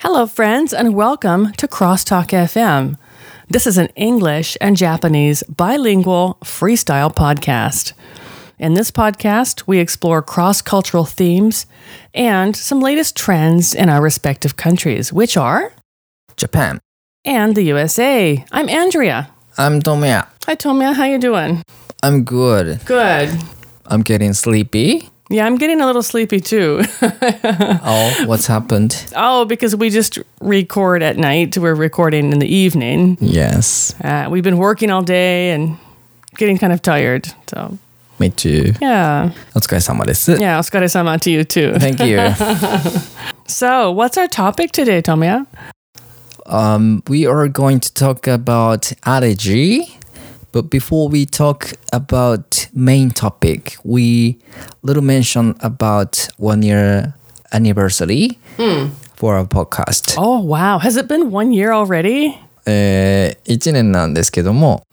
Hello, friends, and welcome to Crosstalk FM. This is an English and Japanese bilingual freestyle podcast. In this podcast, we explore cross-cultural themes and some latest trends in our respective countries, which are Japan. and the USA. I'm Andrea. I'm Tomoya. Hi, Tomoya. How you doing? I'm good. Good. I'm getting sleepy. Yeah, I'm getting a little sleepy too. Oh, what's happened? Oh, because we just record at night. We're recording in the evening. Yes, We've been working all day and getting kind of tired. So, me too. yeah. お疲れ様です。 Yeah, otsukare-sama to you too. Thank you. So, what's our topic today, Tomoya? We are going to talk about allergy. But before we talk about main topic, we little mention about 1 year anniversary for our podcast. Oh, wow. Has it been 1 year already? 1年なんですけども、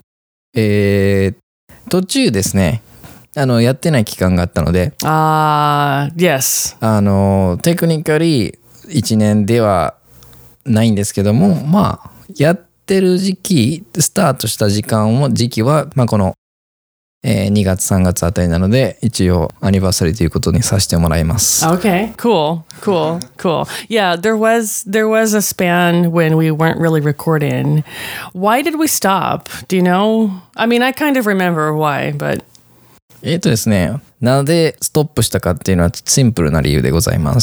途中ですね、やってない期間があったので、 Yes. テクニカリ1年ではないんですけども、まあ、やってる時期、スタートした時期は、まあ、この、2月3月あたりなので、一応アニバーサリーということにさせてもらいます。 Okay, cool. Yeah, there was a span when we weren't really recording. Why did we stop? Do you know? I mean, I kind of remember why, but... ですね、なのでストップしたかっていうのはシンプルな理由でございます。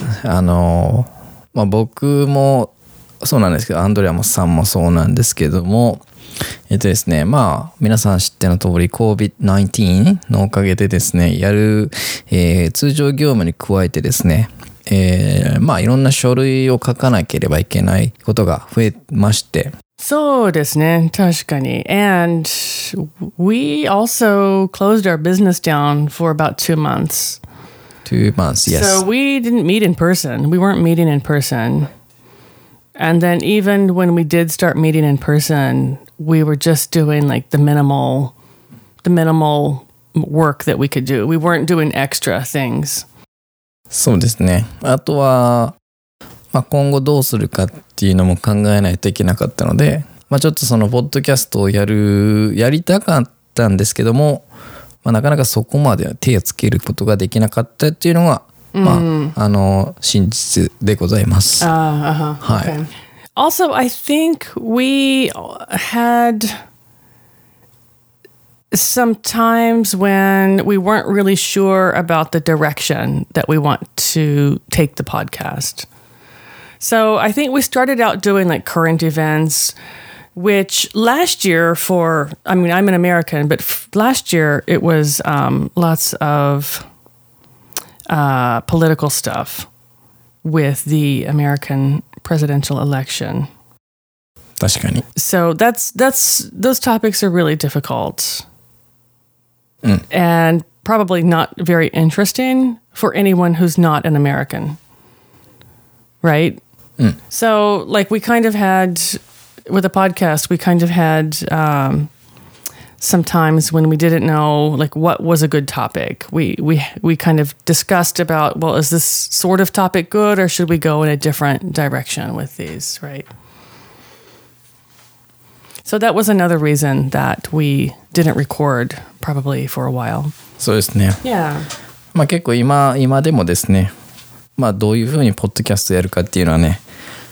まあ、僕もそうなんですけど、アンドレアさんもそうなんですけども、ですね、まあ皆さん知っての通り COVID-19 のおかげでですね、やる、通常業務に加えてですね、まあいろんな書類を書かなければいけないことが増えまして。 そうですね、確かに。And we also closed our business down for about 2 months. 2 months, yes. So we didn't meet in person. We weren't meeting in person. And then even when we did start meeting in person, we were just doing like the minimal work that we could do. We weren't doing extra things. そうですね。あとは、まあ、今後どうするかっていうのも考えないといけなかったので、まあ、ちょっとそのポッドキャストをやりたかったんですけども、まあ、なかなかそこまで手をつけることができなかったっていうのが、まあ、真実でございます。 はい。Okay. Also, I think we had some times when we weren't really sure about the direction that we want to take the podcast. So I think we started out doing like current events, which last year I'm an American, but last year it was lots of political stuff with the American presidential election. 確かに。 So those topics are really difficult and probably not very interesting for anyone who's not an American, right? So like we kind of had with the podcast, we kind of had some times when we didn't know like what was a good topic. We kind of discussed about, well, is this sort of topic good or should we go in a different direction with these, right? So that was another reason that we didn't record probably for a while. そうですね。 Yeah. まあ結構今でもですね、まあどういうふうにポッドキャストやるかっていうのはね、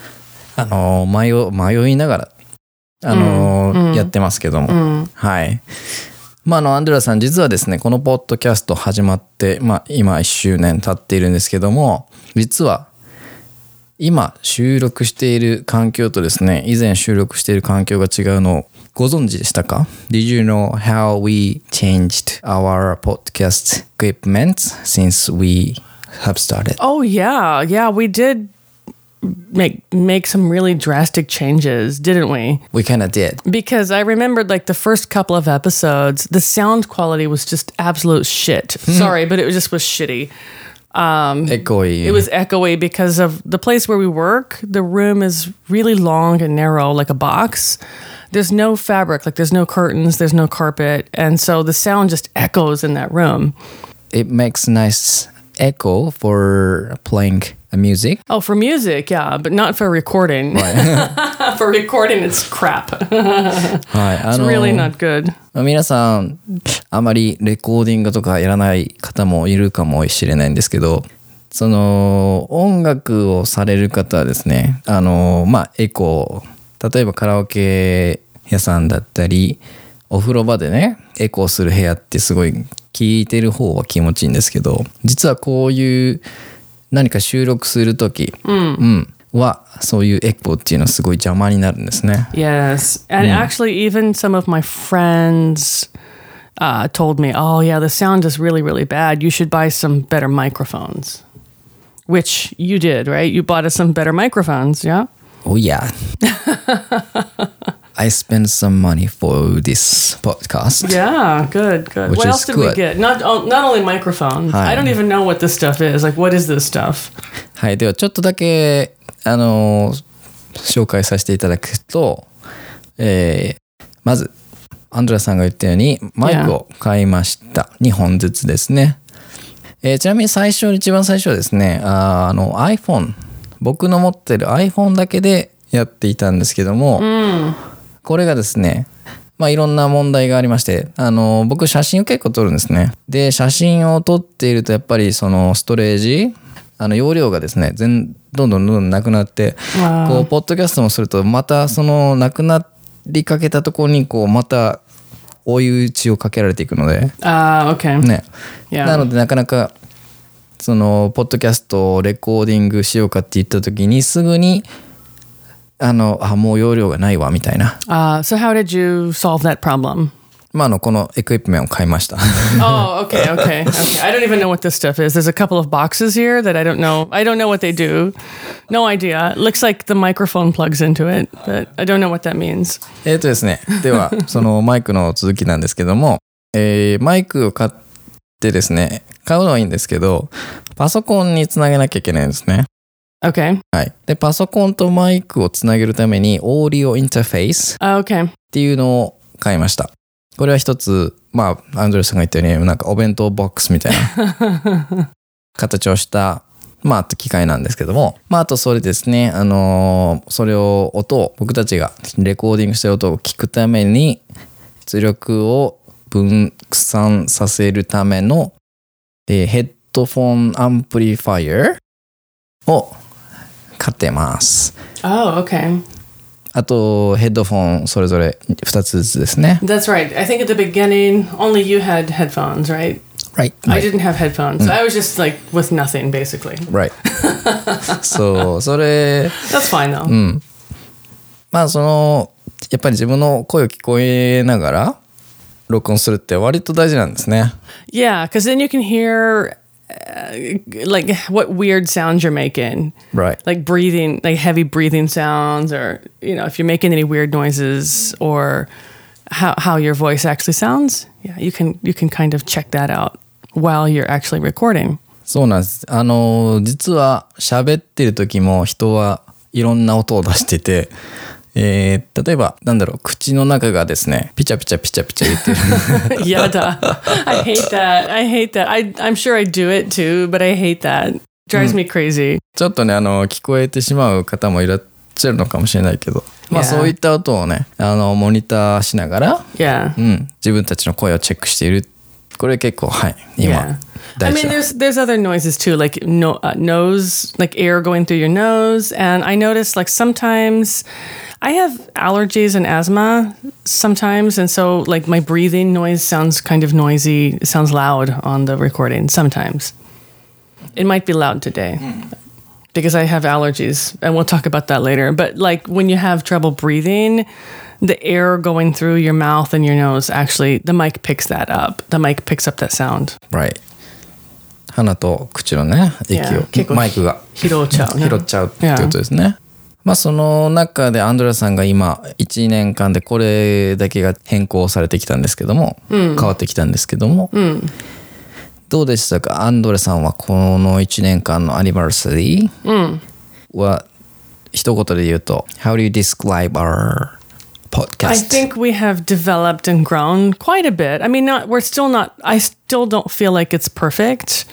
迷いながらやってますけども、はい。まあアンドレアさん実はですね、このポッドキャスト始まってまあ今1周年経っているんですけども、実は今収録している環境とですね、以前収録している環境が違うのをご存知でしたか？ Did you know how we changed our podcast equipment since we have started? Oh yeah, we did make some really drastic changes, didn't we? We kind of did. Because I remembered like the first couple of episodes, the sound quality was just absolute shit. Sorry, but it was shitty. Echoey. It was echoey because of the place where we work. The room is really long and narrow, like a box. There's no fabric, like there's no curtains, there's no carpet. And so the sound just echoes in that room. It makes nice echo for playing music. Oh, for music, yeah, but not for recording. For recording, it's crap. はい、 It's really not good. 皆さんあまりレコーディングとかやらない方もいるかもしれないんですけど、その音楽をされる方はですね、エコー、例えばカラオケ屋さんだったりお風呂場でねエコーする部屋ってすごい聞いてる方は気持ちいいんですけど、実はこういう何か収録するとき、はそういうエコーっていうのはすごい邪魔になるんですね。 Yes, and actually even some of my friends told me, oh yeah, the sound is really, really bad. You should buy some better microphones. Which you did, right? You bought us some better microphones, yeah? Oh yeah. I spent some money for this podcast. Yeah, good. Which What is else did we good. get? Not only microphones. I don't even know what this stuff is. Like, what is this stuff? はい、ではちょっとだけ紹介させていただくと、まずアンドレさんが言ったようにマイクを買いました。2本ずつですね。ちなみに一番最初はですね、iPhone、僕の持ってる iPhone だけでやっていたんですけども、これがですね、いろんな問題がありまして、僕写真を結構撮るんですね。で、写真を撮っているとやっぱりそのストレージ、容量がですね、どんどんなくなって、こうポッドキャストもするとまたそのなくなりかけたところにこうまた追い打ちをかけられていくので、 okay. ね。 Yeah. なのでなかなかそのポッドキャストをレコーディングしようかって言った時にすぐにもう容量がないわみたいな。 So how did you solve that problem? このエクイプメントを買いました。 Oh, okay. I don't even know what this stuff is. There's a couple of boxes here that I don't know. I don't know what they do. No idea. It looks like the microphone plugs into it, but I don't know what that means. ですね。では、そのマイクの続きなんですけども、マイクを買ってですね、買うのはいいんですけど、パソコンにつなげなきゃいけないんですね。 Okay. はい。で、パソコンとマイクをつなげるために、オーディオインターフェースっていうのを買いました。これは一つ、アンドレさんが言ったように、なんかお弁当ボックスみたいな形をした、機械なんですけども、あとそれですね、それを僕たちがレコーディングした音を聞くために、出力を分散させるための、ヘッドフォンアンプリファイアを買ってます。 Oh, okay. あとヘッドフォンそれぞれ2つずつですね。 That's right. I think at the beginning only you had headphones, right? Right. I didn't have headphones. So I was just like with nothing basically. Right. そう、それ。 That's fine though. やっぱり自分の声を聞こえながら録音するって割と大事なんですね。 Yeah, because then you can hear like what weird sounds you're making. Right. Like breathing, like heavy breathing sounds, or if you're making any weird noises, or how your voice actually sounds. Yeah, you can kind of check that out while you're actually recording. そうなんです。実は喋ってる時も人はいろんな音を出してて、例えば口の中がですねピチャピチャピチャピチャ言ってる。 やだ。I hate that. I'm sure I do it too, but I hate that. Drives me crazy. ちょっとね聞こえてしまう方もいらっしゃるのかもしれないけど、そういった音をねモニターしながら、自分たちの声をチェックしている。これ結構今。 I mean, there's other noises too, like nose, like air going through your nose, and I notice like sometimes I have allergies and asthma sometimes, and so like my breathing noise sounds kind of noisy. It sounds loud on the recording sometimes. It might be loud today because I have allergies, and we'll talk about that later. But like when you have trouble breathing, the air going through your mouth and your nose, actually, the mic picks that up. The mic picks up that sound. Right. 鼻と口のね、息を、マイクが拾っちゃうってことですね。その中でアンドレさんが今1年間でこれだけが変更されてきたんですけども、変わってきたんですけども、どうでしたか？アンドレさんはこの1年間のアニバーサリーは一言で言うと、How do you describe our podcast? I think we have developed and grown quite a bit. I mean, I still don't feel like it's perfect.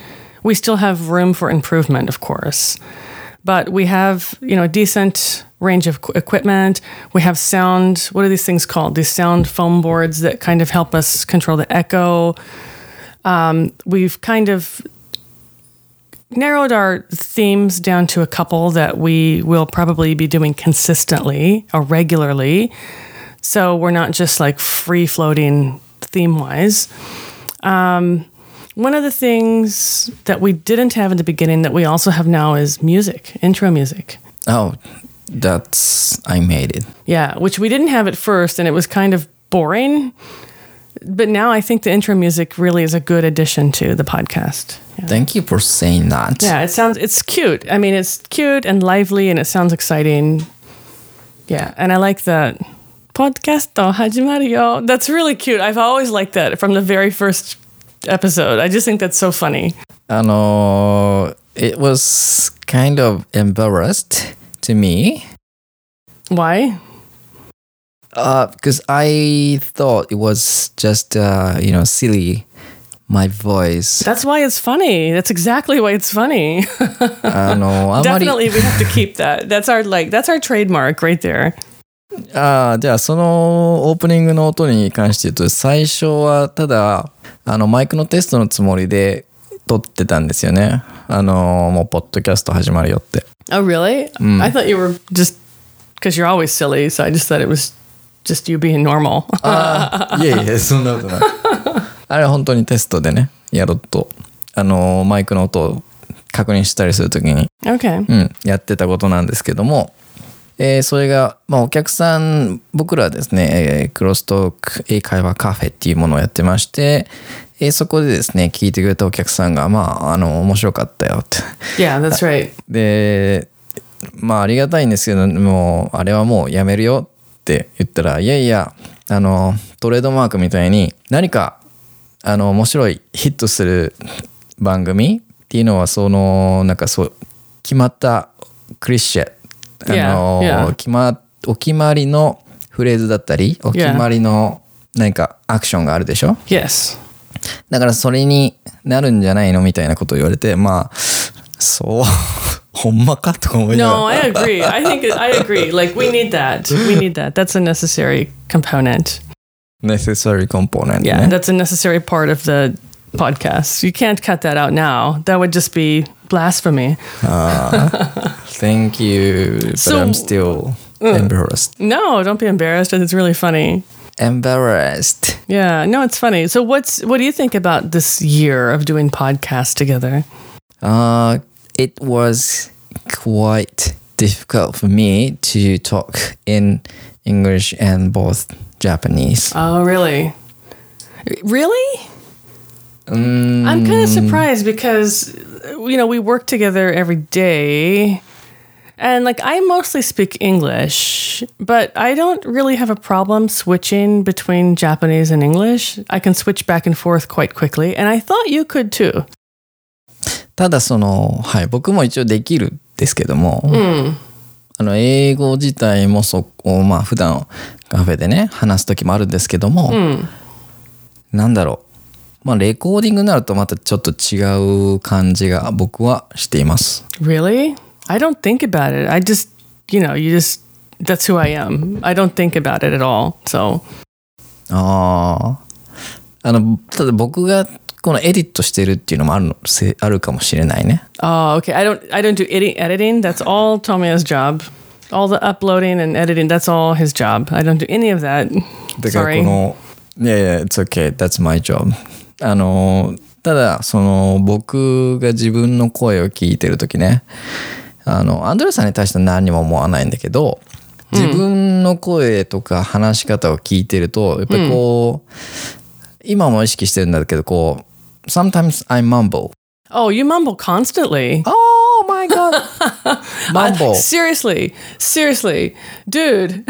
we still have room for improvement, of course. But we have, a decent range of equipment. We have sound, what are these things called? These sound foam boards that kind of help us control the echo. We've kind of narrowed our themes down to a couple that we will probably be doing consistently or regularly. So we're not just like free-floating theme-wise. One of the things that we didn't have in the beginning that we also have now is music, intro music. Oh, I made it. Yeah, which we didn't have at first, and it was kind of boring. But now I think the intro music really is a good addition to the podcast. Yeah. Thank you for saying that. Yeah, it's cute. I mean, it's cute and lively, and it sounds exciting. Yeah, and I like that. Podcast 始まるよ. That's really cute. I've always liked that from the very first episode. I just think that's so funny. It was kind of embarrassed to me. Why? Because I thought it was just, silly, my voice. That's why it's funny. That's exactly why it's funny. Definitely we have to keep that. That's our trademark right there. じゃあそのオープニングの音に関して言うと、最初はただマイクのテストのつもりで撮ってたんですよね。もうポッドキャスト始まるよって。 Oh, really? I thought you were just because you're always silly, so I just thought it was just you being normal. いえそんなことない。あれは本当にテストでね、やろうとマイクの音を確認したりするときに、やってたことなんですけども。それが、お客さん、僕らはですね、クロストーク英会話カフェっていうものをやってまして、そこでですね、聞いてくれたお客さんが、面白かったよって。 Yeah, that's right. で、ありがたいんですけど、もう、あれはもうやめるよって言ったら、いやいや、トレードマークみたいに、何か、面白いヒットする番組っていうのは、決まったクリシェ、お決まりのフレーズだったり、お決まりの何かアクションがあるでしょ？ Yes. だからそれになるんじゃないのみたいなことを言われて、そう、ほんまかとか思いながら。 No, I agree. I agree. Like, we need that. We need that. That's a necessary component. Necessary component. Yeah, that's a necessary part of the podcast. You can't cut that out now. That would just be blasphemy. Thank you, but I'm still embarrassed. No, don't be embarrassed. It's really funny. Embarrassed. Yeah, no, it's funny. So what do you think about this year of doing podcasts together? It was quite difficult for me to talk in English and both Japanese. Oh, really? Really? I'm kind of surprised because, we work together every day. And I mostly speak English, but I don't really have a problem switching between Japanese and English. I can switch back and forth quite quickly, and I thought you could too. ただ僕も一応できるんですけども、英語自体も普段カフェでね、話す時もあるんですけども、なんだろう。レコーディングになるとまたちょっと違う感じが僕はしています。 Really? I don't think about it. I just, that's who I am. I don't think about it at all. So. ただ僕がこのエディットしてるっていうのもあるかもしれないね。 Oh, okay. I don't do editing. That's all Tomiya's job. All the uploading and editing, that's all his job. I don't do any of that. だからYeah, it's okay. That's my job. ただ僕が自分の声を聞いてるときね、アンドレさんに対しては何にも思わないんだけど、自分の声とか話し方を聞いてると、やっぱり今も意識してるんだけど、sometimes I mumble. Oh, you mumble constantly. Oh my god. Mumble. Seriously, dude.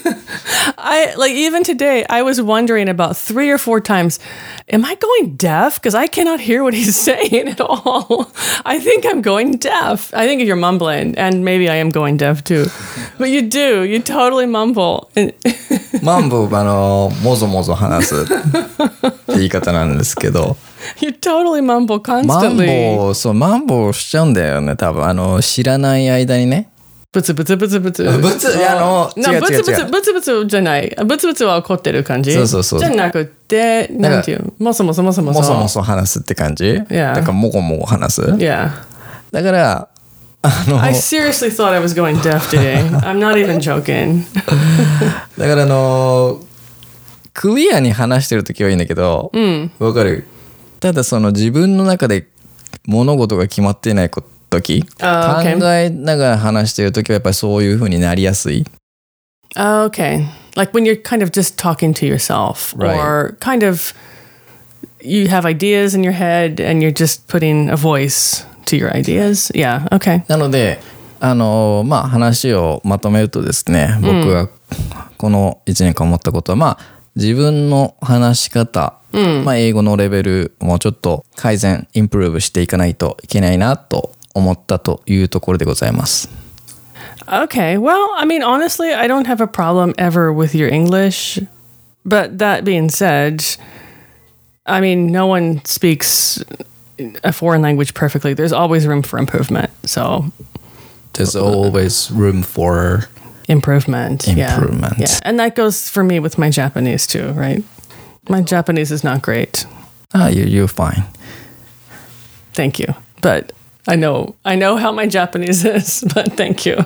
Even today, I was wondering about 3 or 4 times, am I going deaf? Because I cannot hear what he's saying at all. I think I'm going deaf. I think you're mumbling, and maybe I am going deaf too. But you do. You totally mumble. Mumble, もぞもぞ話すって言い方なんですけど。 You totally mumble マン constantly. ボウ、そう、マンボウしちゃうんだよね、多分。知らない間にね。 ブツブツブツブツ。 ブツ、違う違うブツブツ違う。 ブツブツじゃない。ブツブツは怒ってる感じ。 そうそうそうじゃなくて、なんていうもそもそもそもそ。 もそもそ話すって感じ。 Yeah. だから、もごもご話す。 Yeah. だから、 I seriously thought I was going deaf today. I'm not even joking. だからクリアに話してるときはいいんだけど、わかる。ただ自分の中で物事が決まっていないとき、 okay. 考えながら話してるときはやっぱりそういう風になりやすい。 Okay. Like when you're kind of just talking to yourself, Right. or kind of you have ideas in your head and you're just putting a voice to your ideas. Yeah. Okay. なので、話をまとめるとですね、僕がこの1年間思ったことは、自分の話し方、英語のレベルもちょっと改善、インプルーブしていかないといけないなと思ったというところでございます。 Okay. Well, I mean, honestly, I don't have a problem ever with your English. But that being said, I mean, no one speaks a foreign language perfectly. There's always room for improvement. So There's always room for improvement. Improvement. Yeah. And that goes for me with my Japanese too, right? My Japanese is not great. You're fine. Thank you. But I know how my Japanese is, but thank you.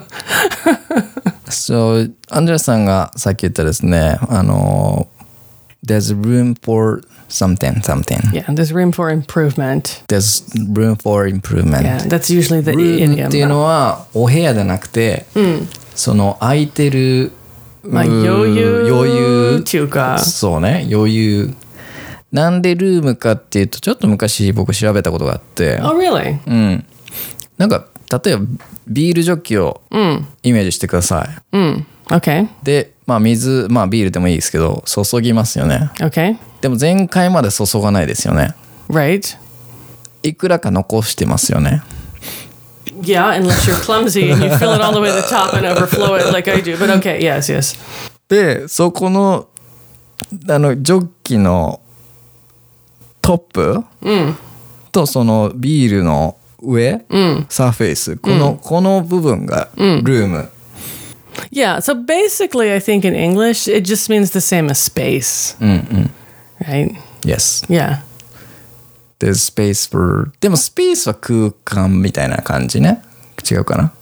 So, アンドレさんがさっき言ったですね、There's room for something. Yeah, there's room for improvement. There's room for improvement. Yeah, that's usually the room idiom. っていうのはお部屋じゃなくて、空いてる、 余裕っていうか、 そうね、余裕。なんでルームかっていうと、ちょっと昔僕調べたことがあって、 Oh, really? なんか例えばビールジョッキをイメージしてください。 Okay. で、水、ビールでもいいですけど、注ぎますよね。 Okay. でも全開まで注がないですよね。 Right. いくらか残してますよね。 Yeah, unless you're clumsy and you fill it all the way to the top and overflow it like I do. But okay, yes. で、そこのジョッキのトップ、とそのビールの上、サーフェイス、この部分がルーム。 Yeah, so basically I think in English it just means the same as space. Right? Yes. Yeah. There's space for でもスペースは空間みたいな感じね。違うかな？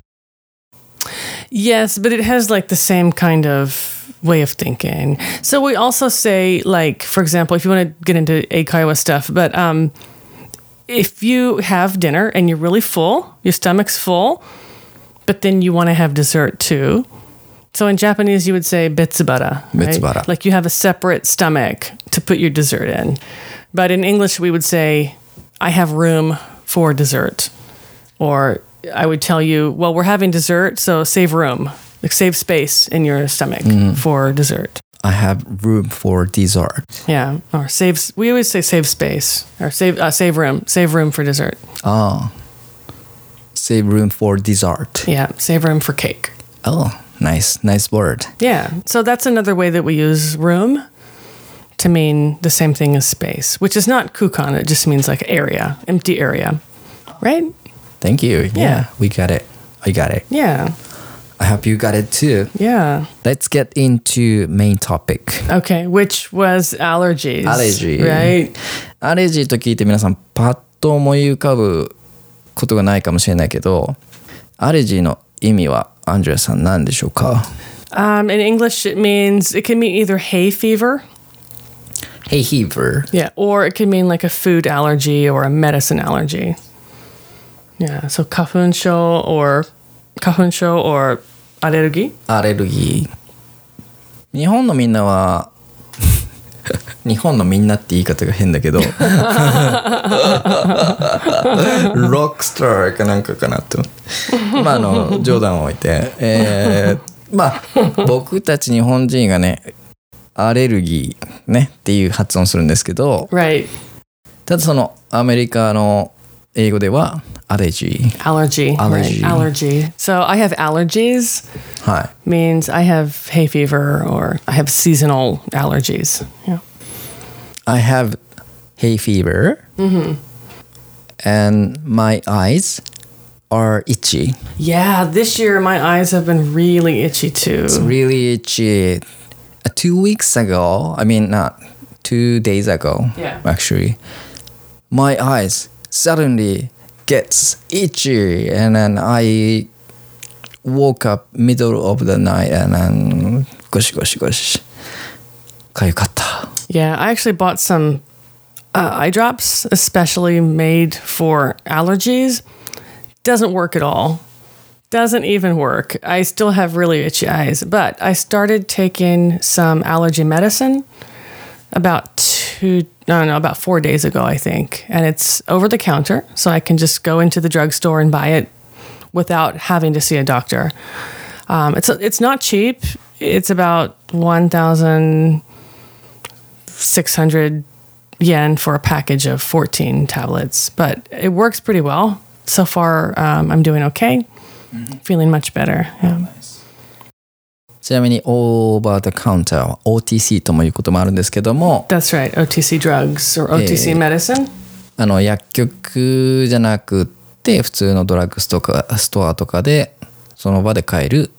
Yes, but it has like the same kind of way of thinking. So we also say, like, for example, if you want to get into Eikaiwa stuff, but if you have dinner and you're really full, your stomach's full, but then you want to have dessert too. So in Japanese, you would say betsubara. Right? Betsubara. Like you have a separate stomach to put your dessert in. But in English, we would say, I have room for dessert. Or I would tell you, well, we're having dessert, so save room. Like save space in your stomach for dessert. I have room for dessert. Yeah. Or save, we always say save space. Or save room. Save room for dessert. Save room for dessert. Yeah. Save room for cake. Oh, nice word. Yeah. So that's another way that we use room to mean the same thing as space, which is not kukan. It just means like area, empty area. Right? Thank you. Yeah, we got it. I got it. Yeah. I hope you got it too. Yeah. Let's get into main topic. Okay, which was allergies. Allergy. Right? アレジーと聞いて皆さんパッと思い浮かぶことがないかもしれないけど、アレジーの意味はアンジェラさん何でしょうか？ In English, it can mean either hay fever. Hay fever. Yeah, or it can mean like a food allergy or a medicine allergy. Yeah, so 花粉症 or アレルギー？ アレルギー。日本のみんなは日本のみんなって言い方が変だけどロックスターかなんかかなと冗談を置いて、僕たち日本人がねアレルギーねっていう発音するんですけど、 Right. ただそのアメリカの英語ではAllergy. Allergy. Right. Allergy. So I have allergies. はい。 Means I have hay fever or I have seasonal allergies. Yeah. I have hay fever. And my eyes are itchy. Yeah, this year my eyes have been really itchy too. It's really itchy. 2 weeks ago, I mean, not 2 days ago, Yeah. actually, my eyes suddenly gets itchy, and then I woke up middle of the night, and then gosh, kayukatta. Yeah, I actually bought some eye drops especially made for allergies. Doesn't work at all. Doesn't even work. I still have really itchy eyes, but I started taking some allergy medicine about 4 days ago, I think. And it's over the counter, so I can just go into the drugstore and buy it without having to see a doctor. It's not cheap. It's about 1,600 yen for a package of 14 tablets, but it works pretty well. So far, I'm doing okay. Feeling much better. Yeah. ちなみにオーバーザカウンターは OTC ともいうこともあるんですけども、 That's right. OTC drugs or OTC medicine. 薬局じゃなくって普通のドラッグストアとかでその場で買える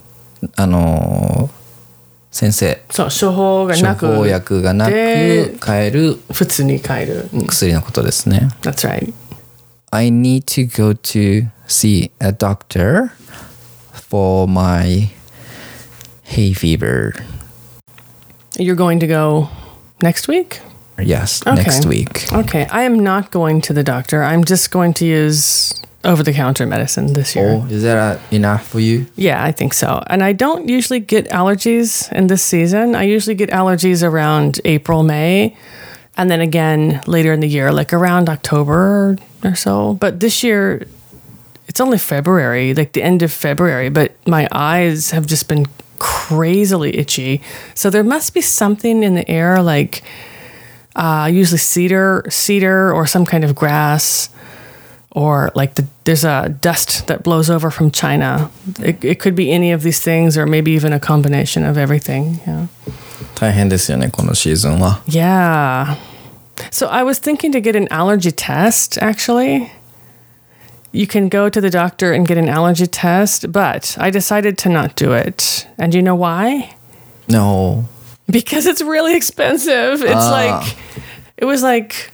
先生そう、処方薬がなく買える普通に買える。 薬のことですね。 That's right. I need to go to see a doctor for my hay fever. You're going to go next week? Yes, Okay. next week. Okay. I am not going to the doctor. I'm just going to use over-the-counter medicine this year. Oh, is that enough for you? Yeah, I think so. And I don't usually get allergies in this season. I usually get allergies around April, May, and then again later in the year, like around October or so. But this year, it's only February, like the end of February, but my eyes have just been crazily itchy. So there must be something in the air, like usually cedar or some kind of grass, or like there's a dust that blows over from China. It could be any of these things, or maybe even a combination of everything. Yeah. 大変ですよね、このシーズンは。 Yeah. So I was thinking to get an allergy test, actually. You can go to the doctor and get an allergy test, but I decided to not do it. And you know why? No. Because it's really expensive. It was like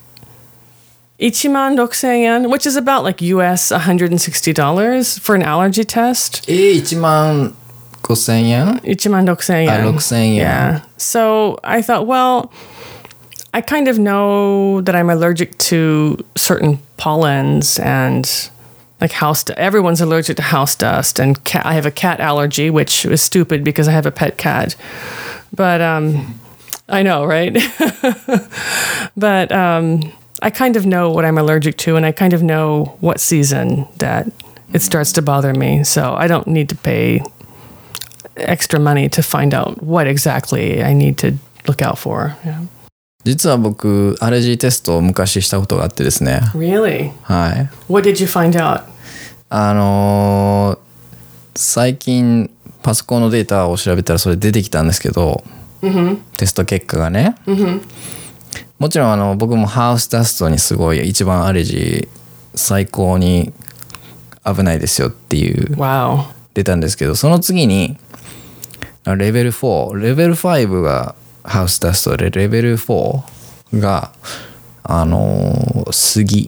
16,000 yen, which is about like US $160 for an allergy test. 15,000 yen? 16,000 yen. 6,000 yen. Yeah. So I thought, well, I kind of know that I'm allergic to certain pollens and like house dust. Everyone's allergic to house dust, and I have a cat allergy, which is stupid because I have a pet cat. But I know, right? But I kind of know what I'm allergic to, and I kind of know what season that it starts to bother me. So I don't need to pay extra money to find out what exactly I need to look out for. Yeah. 実は僕アレルギーテストを昔したことがあってですね。 Really? はい。 What did you find out? 最近パソコンのデータを調べたらそれ出てきたんですけど、テスト結果がね、もちろん僕もハウスダストにすごい一番アレルギー最高に危ないですよっていう Wow. 出たんですけど、その次にレベル4レベル5がハウスダストで、レベル4が杉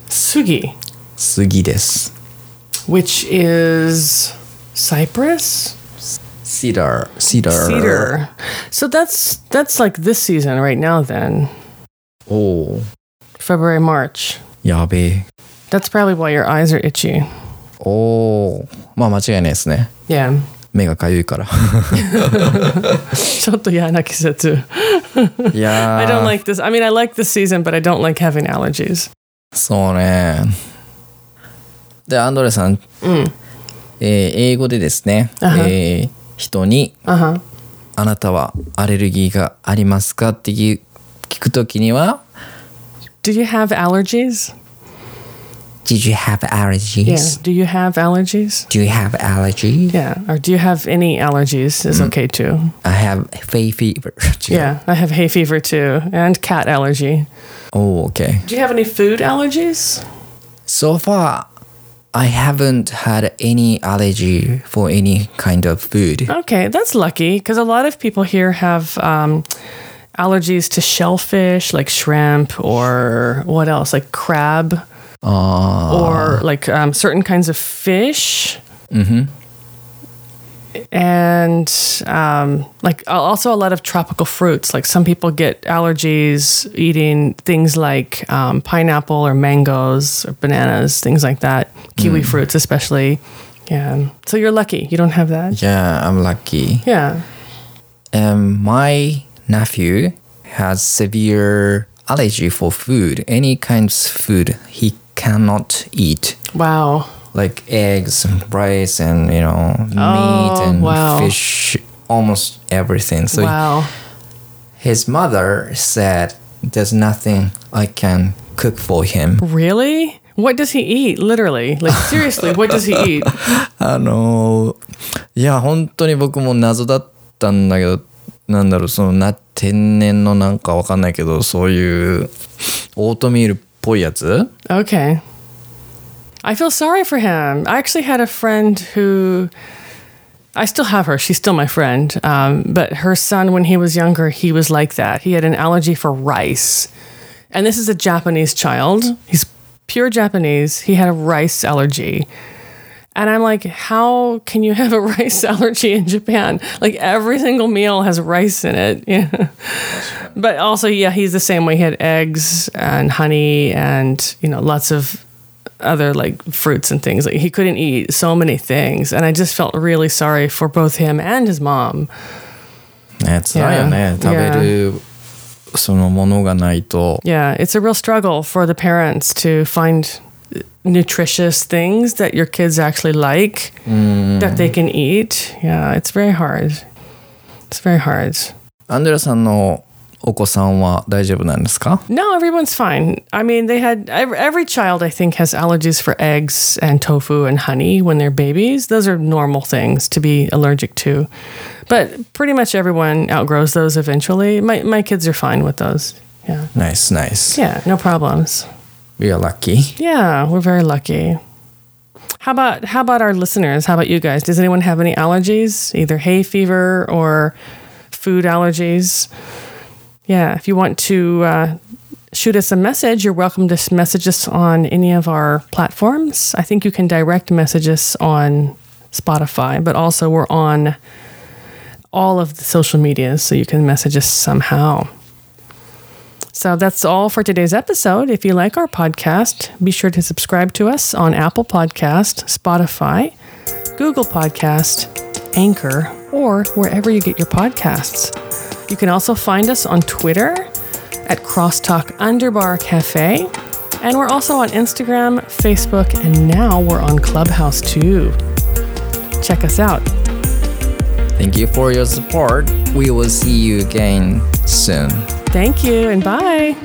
です。 Which is cypress? Cedar. So that's like this season right now then. おお。 February, March. やべえ。 That's probably why your eyes are itchy. おお。まあ間違いないですね。 Yeah. 目がかゆいから。 ちょっと嫌な季節。 いやー。 I don't like this. I mean, I like this season, but I don't like having allergies. そうね。で、アンドレさん、英語でですね、人に、あなたはアレルギーがありますかって聞くときには、 Do you have allergies? Did you have allergies? Yeah. Do you have allergies? Do you have allergies? Yeah. Or do you have any allergies is okay too. I have hay fever. Yeah. I have hay fever too. And cat allergy. Oh, okay. Do you have any food allergies? So far, I haven't had any allergy for any kind of food. Okay. That's lucky because a lot of people here have allergies to shellfish like shrimp or what else? Like crab. Or like certain kinds of fish. And like also a lot of tropical fruits. Like some people get allergies eating things like pineapple or mangoes or bananas, things like that. Kiwi fruits especially. Yeah. So you're lucky. You don't have that. Yeah, I'm lucky. Yeah. My nephew has severe allergy for food. Any kinds of food he cannot eat. Wow. Like eggs, rice, and meat and fish, almost everything. So wow. his mother said, "There's nothing I can cook for him." Really? What does he eat? Literally. Like seriously, what does he eat? いや本当に僕も謎だったんだけど、なんだろう天然のなんかわかんないけど、そういうオートミールっぽいやつ? Okay. I feel sorry for him. I actually had a friend who, I still have her. She's still my friend. But her son, when he was younger, he was like that. He had an allergy for rice. And this is a Japanese child. He's pure Japanese. He had a rice allergy. And I'm like, how can you have a rice allergy in Japan? Like every single meal has rice in it. Yeah. But also, yeah, he's the same way. He had eggs and honey and, lots of other like fruits and things. Like he couldn't eat so many things. And I just felt really sorry for both him and his mom. ね、辛いよね。食べるそのものがないと。 Yeah, it's a real struggle for the parents to find nutritious things that your kids actually like, that they can eat. Yeah, it's very hard. It's very hard. アンドレアさんのお子さんは大丈夫なんですか? No, everyone's fine. I mean, they had every child I think has allergies for eggs and tofu and honey when they're babies. Those are normal things to be allergic to. But pretty much everyone outgrows those eventually. My kids are fine with those. Yeah. Nice, nice. Yeah, no problems. We are lucky. Yeah, we're very lucky. How about our listeners? How about you guys? Does anyone have any allergies? Either hay fever or food allergies? Yeah, if you want to shoot us a message, you're welcome to message us on any of our platforms. I think you can direct message us on Spotify, but also we're on all of the social medias, so you can message us somehow. So that's all for today's episode. If you like our podcast, be sure to subscribe to us on Apple Podcast, Spotify, Google Podcast, Anchor, or wherever you get your podcasts. You can also find us on Twitter at Crosstalk_Cafe. And we're also on Instagram, Facebook, and now we're on Clubhouse too. Check us out. Thank you for your support. We will see you again soon. Thank you and bye.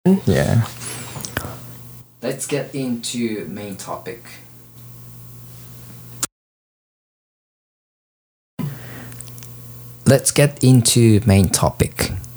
Yeah. Let's get into main topic. Let's get into main topic.